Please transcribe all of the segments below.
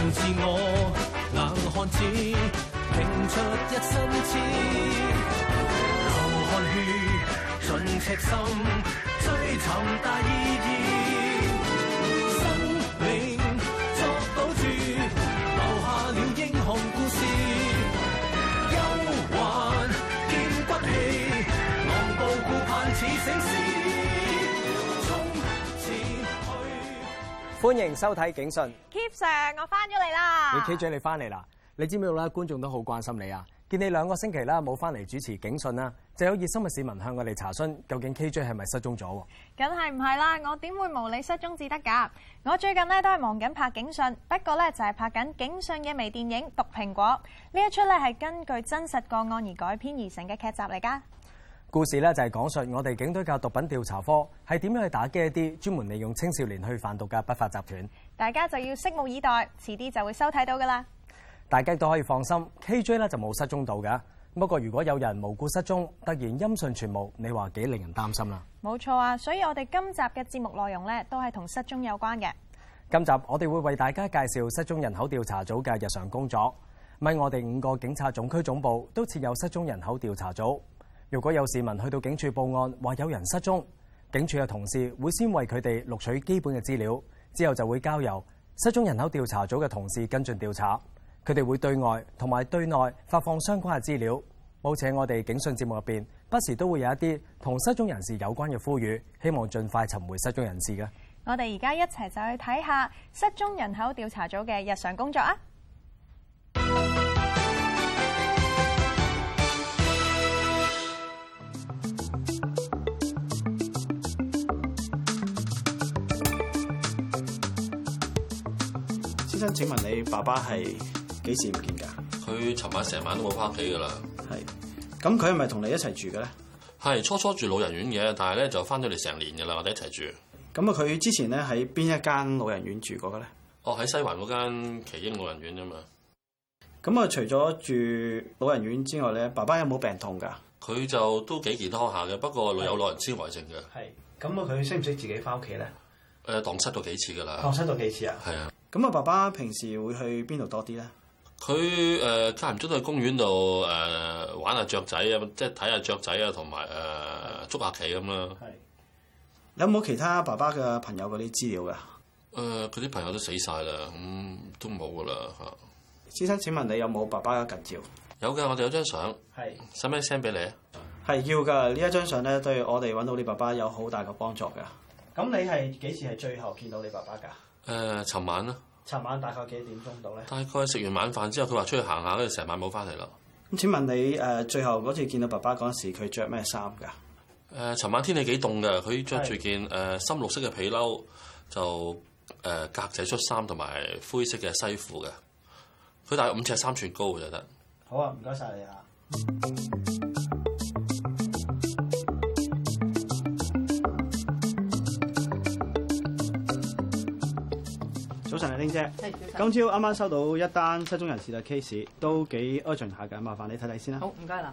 自我，硬漢子拼出一身刺，流汗血盡赤心，追尋大意義，生命作賭注，留下了英雄故事，憂患見骨氣，昂步顧盼似醒獅。 歡迎收睇警訊。 Keep Sir， 我翻咗嚟啦。 你 KJ 你翻嚟啦？你知唔知道咧？觀眾都好關心你啊！見你2個星期啦冇翻嚟主持警訊啦，就有熱心嘅市民向我哋查詢，究竟 KJ 係咪失蹤咗？ 梗係唔係啦，我點會無理失蹤至得㗎？我最近咧都係忙緊拍警訊，不過咧就係拍緊警訊嘅微電影《毒蘋果》。呢一出咧係根據真實個案而改編而成嘅劇集嚟㗎。 故事咧就係講述我哋警隊嘅毒品調查科係點樣去打擊一啲專門利用青少年去販毒嘅不法集團。 大家就要拭目以待，遲啲就會收睇到㗎啦。 大家都可以放心 ，KJ 咧就冇失蹤到嘅。不過如果有人無故失蹤，突然音訊全無，你話幾令人擔心啦？ 冇錯啊，所以我哋今集嘅節目內容咧都係同失蹤有關嘅。 今集我哋會為大家介紹失蹤人口調查組嘅日常工作。咪我哋5個警察總區總部都設有失蹤人口調查組。如果有市民去到警署報案，話有人失蹤，警署嘅同事會先為佢哋錄取基本嘅資料，之後就會交由失蹤人口調查組嘅同事跟進調查。佢哋會對外同埋對內發放相關嘅資料。好似喺我哋警訊節目入邊，不時都會有一啲同失蹤人士有關嘅呼籲，希望盡快尋回失蹤人士嘅。 我哋而家一齊就去睇下失蹤人口調查組嘅日常工作啊！ 先生，請問你爸爸係幾時唔見㗎？ 佢尋晚成晚都冇翻屋企㗎啦。 係，咁佢係咪同你一齊住嘅咧？ 係初初住老人院嘅，但係咧就翻咗嚟成年㗎啦，我哋一齊住。 咁啊，佢之前咧喺邊一間老人院住過嘅咧？ 哦，喺西環嗰間奇英老人院啫嘛。 咁啊，除咗住老人院之外咧，爸爸有冇病痛㗎？ 佢就都幾健康下嘅，不過有老人痴呆症嘅。 係。咁啊，佢識唔識自己翻屋企咧？ 蕩失咗幾次㗎啦。 蕩失咗幾次啊？ 係啊。 咁啊，爸爸平時會去邊度多啲咧？ 佢間唔中都去公園度玩下雀仔啊，即係睇下雀仔啊，同埋捉下棋咁啦。 係。有冇其他爸爸嘅朋友嗰啲資料㗎？ 佢啲朋友都死晒啦，咁都冇㗎啦嚇。 先生，請問你有冇爸爸嘅近照？ 有㗎，我哋有張相。係。使唔使 send 俾你啊？係要㗎，呢一張相咧對我哋揾到你爸爸有好大嘅幫助㗎。咁你係幾時係最後見到你爸爸㗎？ 尋晚啦。尋晚大概幾點鐘到咧？大概食完晚飯之後，佢話出去行下，跟住成晚冇翻嚟啦。 咁請問你最後嗰次見到爸爸嗰陣時，佢着咩衫㗎？ 尋晚天氣幾凍㗎，佢着住件深綠色嘅皮褸，就格仔恤衫同埋灰色嘅西褲嘅。佢大概5尺3寸高就得。 好啊，唔該晒你啊。早晨啊，玲姐。今朝啱啱收到一單失蹤人士嘅 case， 都幾 urgent 下嘅，麻煩你睇睇先啦。 好，唔該啦。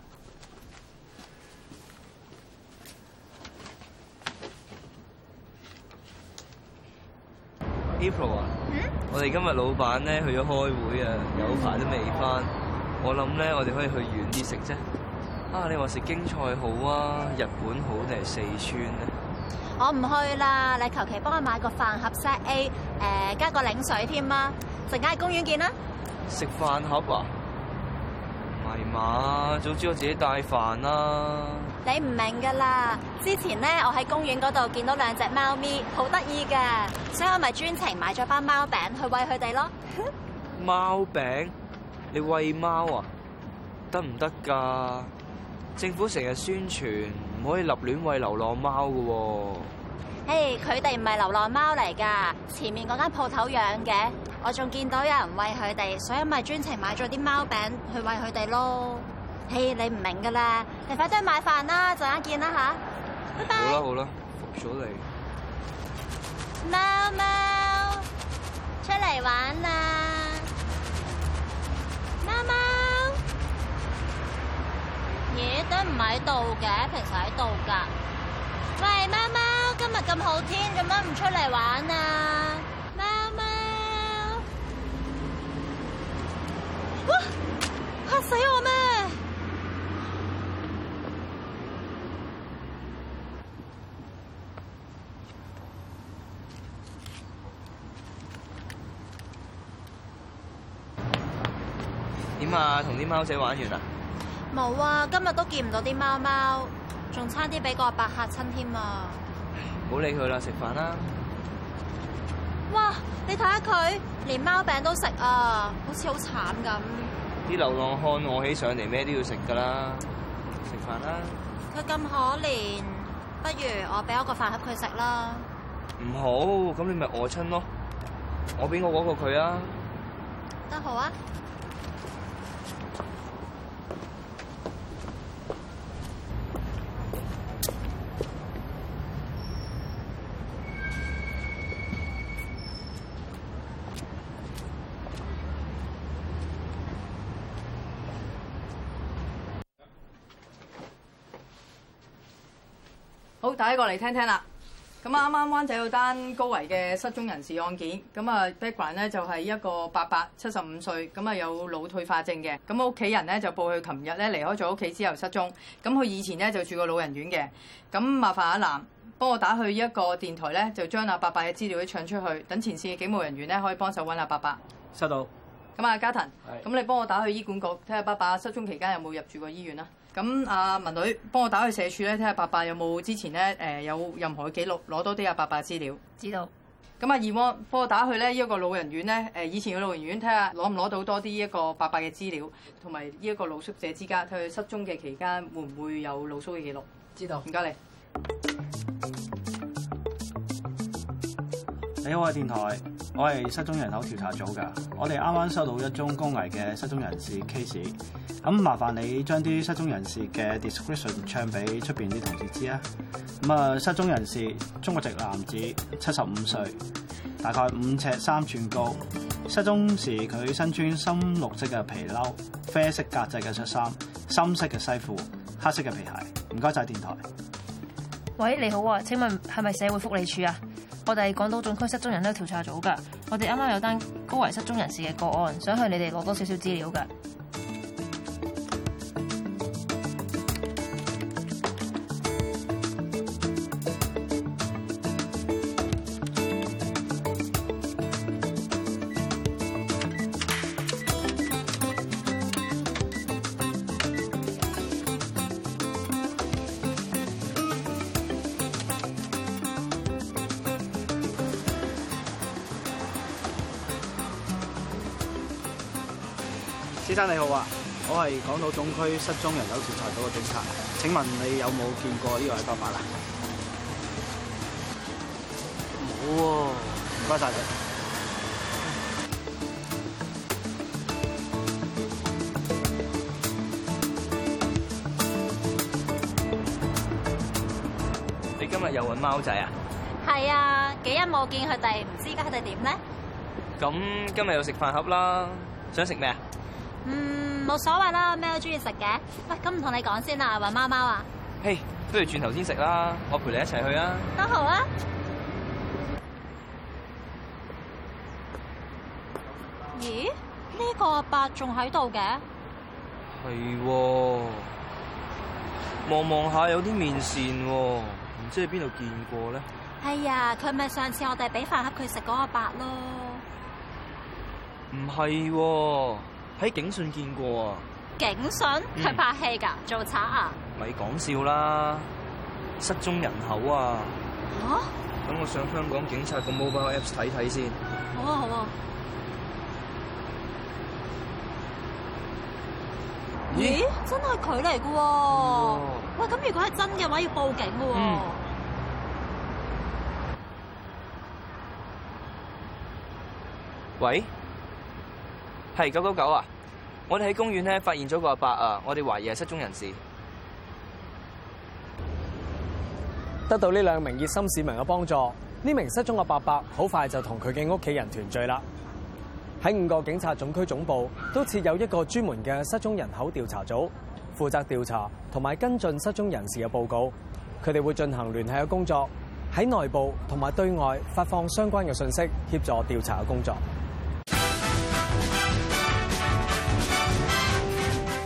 April 啊，我哋今日老闆咧去咗開會啊，有排都未翻。我諗咧，我哋可以去遠啲食啫。啊，你話食京菜好啊，日本好定係四川咧？ 我唔去啦，你求其幫我買個飯盒 set A， 加個檸水添啊！陣間喺公園見啦。 食飯盒啊？唔係嘛，早知我自己帶飯啦。 你唔明噶啦，之前咧我喺公園嗰度見到2隻貓咪，好得意噶，所以我咪專程買咗包貓餅去餵佢哋咯。 貓餅？你餵貓啊？得唔得㗎？政府成日宣傳唔可以立亂餵流浪貓㗎喎。 嘿，佢哋唔係流浪貓嚟㗎，前面嗰間鋪頭養嘅，我仲見到有人餵佢哋，所以咪專程買咗啲貓餅去餵佢哋咯。嘿，你唔明㗎啦，你快啲去買飯啦，陣間見啦吓，拜拜。 好啦好啦，服咗你。 貓貓，出嚟玩啦！貓貓，咦，都唔喺度嘅，平時喺度㗎。喂，貓貓，今日咁好天，做乜唔出嚟玩啊？貓貓， 死我咩？ 點啊？同啲貓仔玩完啦？ 冇啊，今日都見唔到啲貓貓，仲差啲俾個阿伯嚇親添啊！ 唔好理佢啦，食飯啦。 哇！你睇下佢，連貓餅都食啊，好似好慘咁。 啲流浪漢餓起上嚟，咩都要食噶啦。食飯啦。 佢咁可憐，不如我俾我個飯盒佢食啦。 唔好，咁你咪餓親咯。我俾我嗰個佢啊。 得好啊。 好，大家過嚟聽聽啦。咁啊，啱啱灣仔有單高危嘅失蹤人士案件，咁啊 background 咧就係一個伯伯，75歲，咁啊有腦退化症嘅。咁屋企人咧就報佢琴日咧離開咗屋企之後失蹤。咁佢以前咧就住過老人院嘅。咁麻煩阿南幫我打去一個電台咧，就將阿伯伯嘅資料咧唱出去，等前線嘅警務人員咧可以幫手揾阿伯伯。 收到。 咁啊，嘉騰，咁你幫我打去醫管局，睇下伯伯失蹤期間有冇入住過醫院啦。咁阿文女幫我打去社署咧，睇下伯伯有冇之前咧有任何嘅記錄，攞多啲阿伯伯資料。 知道。 咁阿二汪幫我打去咧呢一個老人院咧，以前嘅老人院睇下攞唔攞到多啲一個伯伯嘅資料，同埋呢一個露宿者之間，睇佢失蹤嘅期間會唔會有露宿嘅記錄。 知道。 唔該你。 你好啊，電台，我係失蹤人口調查組㗎。我哋啱啱收到一宗高危嘅失蹤人士 case， 咁麻煩你將啲失蹤人士嘅 description 唱俾出邊啲同事知啊。咁啊，失蹤人士中國籍男子，75歲，大概5尺3寸高。失蹤時佢身穿深綠色嘅皮褸、啡色格仔嘅恤衫、深色嘅西褲、黑色嘅皮鞋。唔該晒電台。 喂，你好啊，請問係咪社會福利署啊？我哋係港島總區失蹤人口調查組㗎。我哋啱啱有單高危失蹤人士嘅個案，想向你哋攞多少少資料㗎。 先生你好啊，我係港島總區失蹤人口調查組嘅警察。請問你有冇見過呢個係伯伯啊？冇喎。唔該晒你。 你今日又揾貓仔啊？ 係啊，幾日冇見佢哋，唔知而家佢哋點咧？ 咁今日又食飯盒啦，想食咩啊？ 冇所謂啦，咩都中意食嘅。喂，咁唔同你講先啦，揾貓貓啊？ 嘿，不如轉頭先食啦，我陪你一齊去啊。 都好啊。咦？呢個阿伯仲喺度嘅？ 係喎，望望下有啲面線喎，唔知喺邊度見過咧？ 係啊，佢咪上次我哋俾飯盒佢食嗰個阿伯咯。 唔係喎。喺警訊見過啊！ 警訊？佢拍戲㗎，做賊啊？ 咪講笑啦！失蹤人口啊！ 嚇！ 等我上香港警察個 mobile apps 睇睇先。 好啊，好啊。咦？真係佢嚟㗎喎！喂，咁如果係真嘅話，要報警㗎喎。 喂？係999啊！我哋喺公園咧發現咗個阿伯啊，我哋懷疑係失蹤人士。 得到呢2名熱心市民嘅幫助，呢名失蹤嘅伯伯好快就同佢嘅屋企人團聚啦。喺5個警察總區總部都設有一個專門嘅失蹤人口調查組，負責調查同埋跟進失蹤人士嘅報告。佢哋會進行聯繫嘅工作，喺內部同埋對外發放相關嘅信息，協助調查嘅工作。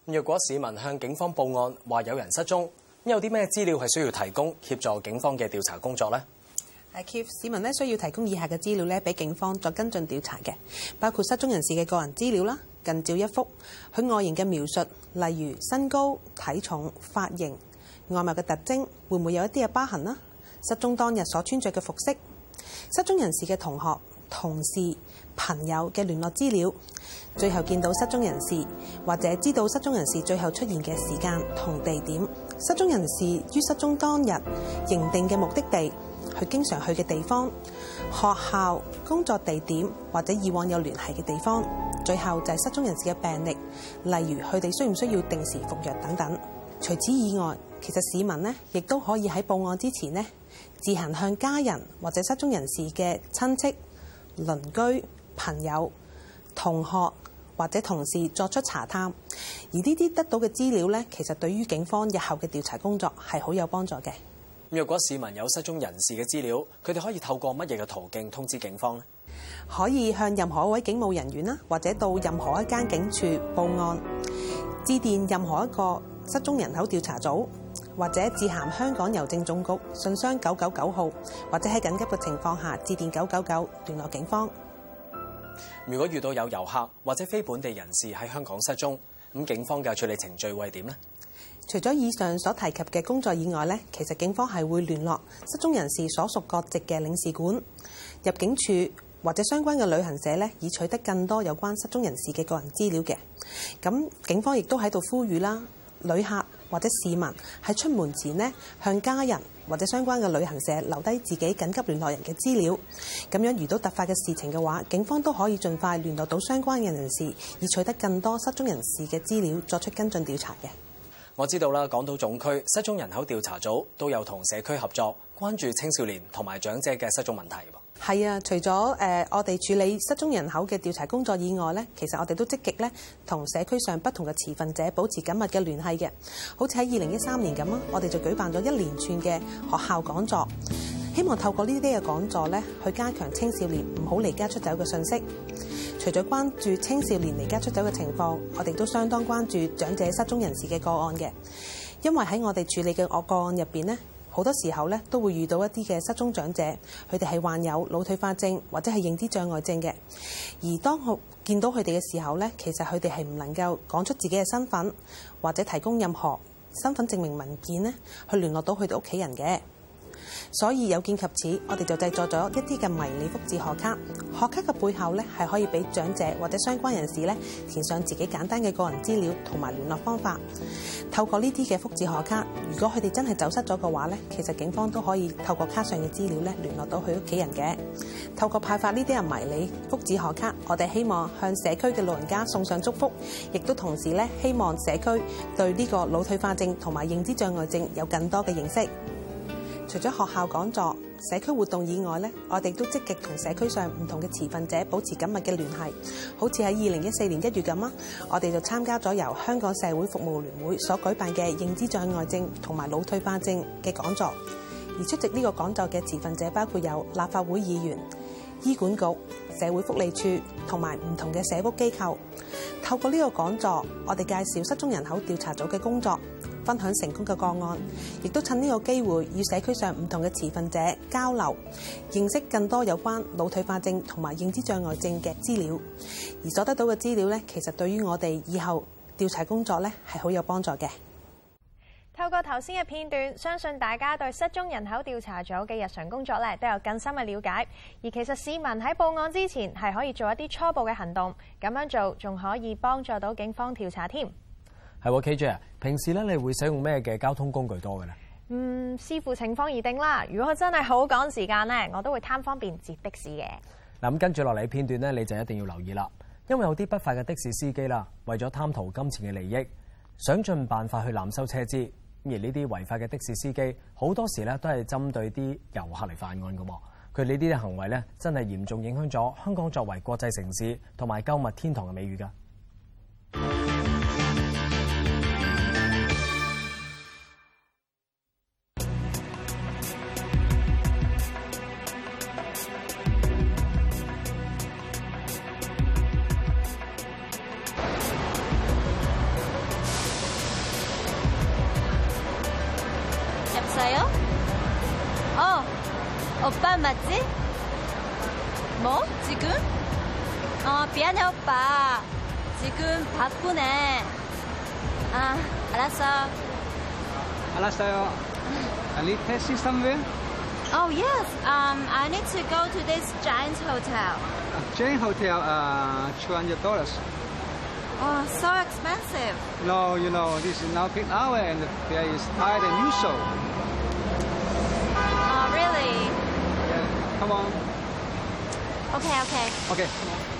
若果市民向警方報案話有人失蹤，有啲咩資料係需要提供協助警方嘅調查工作呢？ 市民咧需要提供以下嘅資料咧，俾警方作跟進調查嘅，包括失蹤人士嘅個人資料啦、近照一幅、佢外形嘅描述，例如身高、體重、髮型、外貌嘅特徵，會唔會有一啲嘅疤痕啦？失蹤當日所穿着嘅服飾，失蹤人士嘅同學、同事、朋友嘅聯絡資料，最後見到失蹤人士或者知道失蹤人士最後出現嘅時間同地點，失蹤人士於失蹤當日認定嘅目的地，佢經常去嘅地方、學校、工作地點或者以往有聯繫嘅地方，最後就係失蹤人士嘅病歷，例如佢哋需唔需要定時服藥等等。除此以外，其實市民呢亦都可以喺報案之前呢，自行向家人或者失蹤人士嘅親戚、鄰居、朋友、同學或者同事作出查探，而呢啲得到嘅資料呢，其實對於警方日後嘅調查工作係好有幫助嘅。 若果市民有失蹤人士嘅資料，佢哋可以透過乜嘢嘅途徑通知警方呢？ 可以向任何一位警務人員啦，或者到任何一間警署報案，致電任何一個失蹤人口調查組，或者致函香港郵政總局信箱999號，或者喺緊急嘅情況下致電999聯絡警方。 如果遇到有遊客或者非本地人士喺香港失蹤，咁警方嘅處理程序會係點呢？ 除咗以上所提及嘅工作以外呢，其實警方係會聯絡失蹤人士所屬國籍嘅領事館、入境處或者相關嘅旅行社呢，以取得更多有關失蹤人士嘅個人資料嘅。咁警方亦都喺度呼籲啦，旅客或者市民喺出門前呢，向家人或者相關嘅旅行社留低自己緊急聯絡人嘅資料。咁樣遇到突發嘅事情嘅話，警方都可以盡快聯絡到相關嘅人士，以取得更多失蹤人士嘅資料，作出跟進調查嘅。 我知道啦，港島總區失蹤人口調查組都有同社區合作，關注青少年同埋長者嘅失蹤問題。 係啊，除咗我哋處理失蹤人口嘅調查工作以外呢，其實我哋都積極咧同社區上不同嘅持份者保持緊密嘅聯繫嘅。好似喺2013年咁啊，我哋就舉辦咗一連串嘅學校講座，希望透過呢啲嘅講座咧，去加強青少年唔好離家出走嘅信息。除咗關注青少年離家出走嘅情況，我哋都相當關注長者失蹤人士嘅個案嘅，因為喺我哋處理嘅個案入邊呢，好多時候咧都會遇到一啲嘅失蹤長者，佢哋係患有腦退化症或者係認知障礙症嘅。而當我見到佢哋嘅時候咧，其實佢哋係唔能夠講出自己嘅身份，或者提供任何身份證明文件咧，去聯絡到佢哋屋企人嘅。所以有見及此，我哋就製作咗一啲嘅迷你福祉學卡。學卡嘅背後咧，係可以俾長者或者相關人士咧填上自己簡單嘅個人資料同埋聯絡方法。透過呢啲嘅福祉學卡，如果佢哋真係走失咗嘅話咧，其實警方都可以透過卡上嘅資料咧聯絡到佢屋企人嘅。透過派發呢啲嘅迷你福祉學卡，我哋希望向社區嘅老人家送上祝福，亦都同時咧希望社區對呢個腦退化症同埋認知障礙症有更多嘅認識。除咗學校講座、社區活動以外咧，我哋都積極同社區上唔同嘅持份者保持緊密嘅聯繫。好似喺2014年1月咁啊，我哋就參加咗由香港社會服務聯會所舉辦嘅認知障礙症同埋腦退化症嘅講座。而出席呢個講座嘅持份者包括有立法會議員、醫管局、社會福利署同埋唔同嘅社福機構。透過呢個講座，我哋介紹失蹤人口調查組嘅工作，分享成功嘅個案，亦都趁呢個機會與社區上唔同嘅持份者交流，認識更多有關腦退化症同埋認知障礙症嘅資料。而所得到嘅資料呢，其實對於我哋以後調查工作呢係好有幫助嘅。 透過頭先嘅片段，相信大家對失蹤人口調查組嘅日常工作咧都有更深嘅了解。而其實市民喺報案之前係可以做一啲初步嘅行動，咁樣做仲可以幫助到警方調查添。 係喎，KJ啊，平時咧你會使用咩嘅交通工具多嘅咧？ 視乎情況而定啦。如果真係好趕時間咧，我都會貪方便截的士嘅。 嗱，咁跟住落嚟片段咧，你就一定要留意啦，因為有啲不法嘅的士司機啦，為咗貪圖金錢嘅利益，想盡辦法去濫收車資。而呢啲違法嘅的士司機好多時咧都係針對啲遊客嚟犯案嘅喎。佢呢啲行為咧真係嚴重影響咗香港作為國際城市同埋購物天堂嘅美譽㗎。 오빠 맞지? 뭐? 지금? 미안해 오빠. 지금 바쁘네. 알았어. 알았어요. I need taxi somewhere? Oh yes. I need to go to this giant hotel. Giant hotel, $200. Oh, so expensive. No, you know, this is now peak hour and the fare is higher than usual. Oh, really? Yeah, come on. Okay. Okay.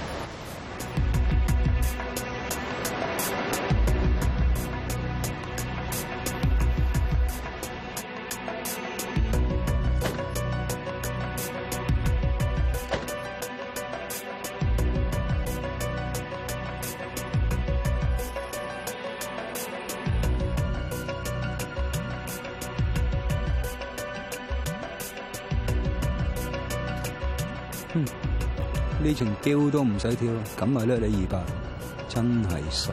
呢程跳都唔使跳，咁咪掠你200，真係傻。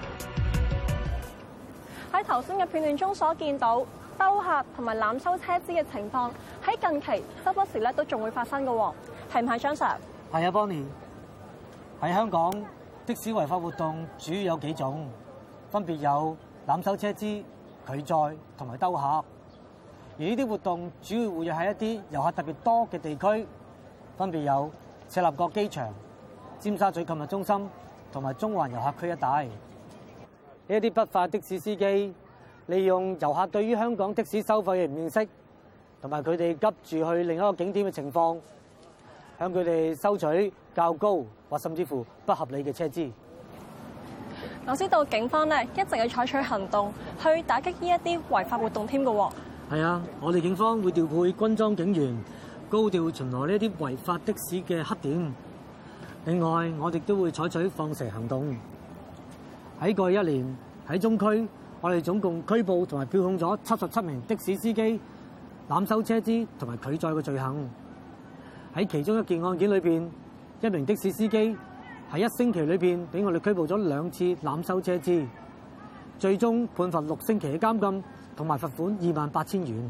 喺頭先嘅片段中所見到兜客同埋濫收車資嘅情況，喺近期周不時都仲會發生嘅喎，係唔係張 Sir？ 係啊 ，Bonnie。喺香港的士違法活動主要有幾種，分別有濫收車資、拒載同埋兜客。而呢啲活動主要活躍喺一啲遊客特別多嘅地區，分別有赤鱲角機場、尖沙咀購物中心同埋中環遊客區一帶。呢一啲不法的士司機利用遊客對於香港的士收費嘅唔認識，同埋佢哋急住去另一個景點嘅情況，向佢哋收取較高或甚至乎不合理嘅車資。 我知道警方一直係採取行動去打擊呢一啲違法活動添嘅喎。 係啊，我哋警方會調配軍裝警員，高調巡邏呢啲違法的士嘅黑點。另外，我哋都會採取放蛇行動。喺過去1年，喺中區，我哋總共拘捕同埋票控咗77名的士司機濫收車資同埋拒載嘅罪行。喺其中一件案件裏邊，1名的士司機喺1星期裏邊俾我哋拘捕咗2次濫收車資，最終判罰6星期嘅監禁同埋罰款28,000元。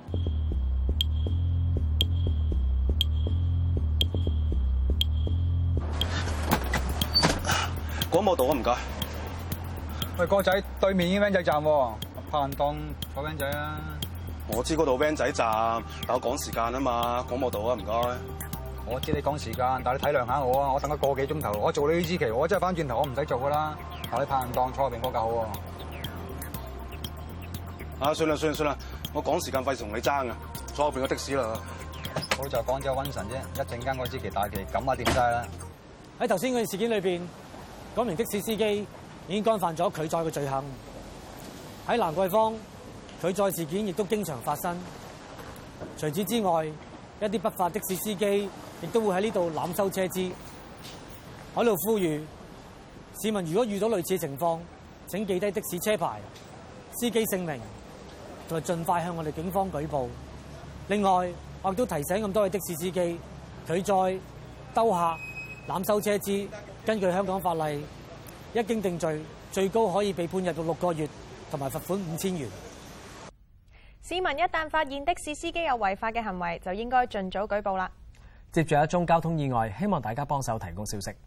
廣播道啊，唔該。 喂，哥仔，對面已經 van 仔站喎，拍人當坐 van 仔啊！ 我知嗰度 van 仔站，但我趕時間啊嘛，廣播道啊，唔該。 我知你趕時間，但你體諒下我啊！我等咗個幾鐘頭，我做你呢支旗，我真係翻轉頭，我唔使做噶啦。但你拍人當坐入邊嗰架好喎。 算啦，我趕時間費事同你爭啊，坐後邊個的士啦。 好在趕咗瘟神啫，一陣間嗰支旗大旗咁啊掂晒啦。 喺頭先嗰件事件裏邊，嗰名的士司機已經干犯咗拒載嘅罪行。喺蘭桂坊，拒載事件亦都經常發生。除此之外，一啲不法的士司機亦都會喺呢度濫收車資。我喺度呼籲市民，如果遇到類似嘅情況，請記低的士車牌、司機姓名，同埋盡快向我哋警方舉報。另外，我亦都提醒咁多位的士司機，拒載、兜客、濫收車資，根據香港法例，一經定罪，最高可以被判入獄6個月，同埋罰款5000元。 市民一旦發現的士司機有違法嘅行為，就應該盡早舉報啦。 接住一宗交通意外，希望大家幫手提供消息。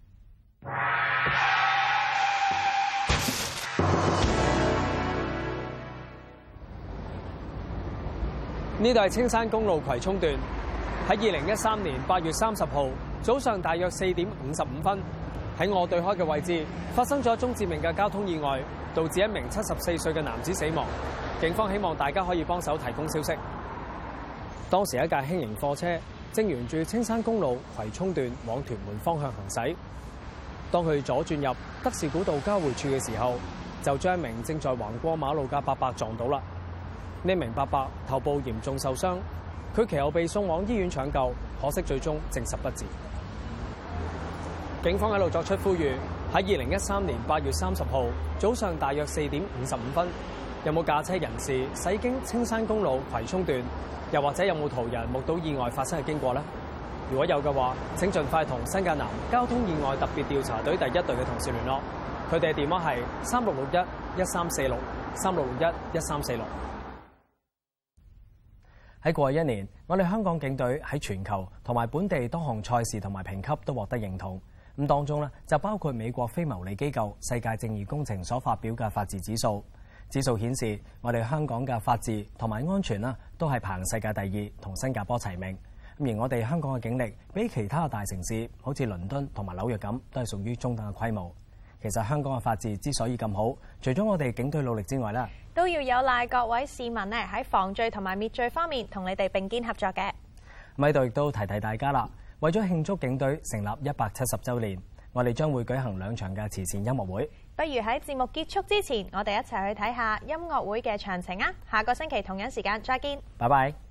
呢度係青山公路葵涌段，喺2013年8月30號早上大約4點55分，喺我對開嘅位置發生咗一宗致命嘅交通意外，導致1名74歲嘅男子死亡。警方希望大家可以幫手提供消息。當時一架輕型貨車正沿住青山公路葵涌段往屯門方向行駛，當佢左轉入德士古道交匯處嘅時候，就將一名正在橫過馬路嘅伯伯撞到啦。呢名伯伯頭部嚴重受傷，佢其後被送往醫院搶救，可惜最終證實不治。警方喺度作出呼籲，喺2013年8月30號早上大約4點55分，有冇駕車人士駛經青山公路葵涌段，又或者有冇途人目睹意外發生嘅經過呢？如果有嘅話，請盡快同新界南交通意外特別調查隊第1隊嘅同事聯絡，佢哋嘅電話係3661-1346 3661-1346。 喺過去1年，我哋香港警隊喺全球同埋本地多項賽事同埋評級都獲得認同。咁當中咧就包括美國非牟利機構世界正義工程所發表嘅法治指數。指數顯示，我哋香港嘅法治同埋安全啦，都係排世界第2，同新加坡齊名。而我哋香港嘅警力比其他嘅大城市，好似倫敦同埋紐約咁，都係屬於中等嘅規模。其實香港嘅法治之所以咁好，除咗我哋警隊努力之外咧， 都要有賴各位市民咧喺防罪同埋滅罪方面同你哋並肩合作嘅。 喺度亦都提提大家啦，為咗慶祝警隊成立170週年，我哋將會舉行2場嘅慈善音樂會。 不如喺節目結束之前，我哋一齊去睇下音樂會嘅詳情啊！下個星期同樣時間再見。 拜拜。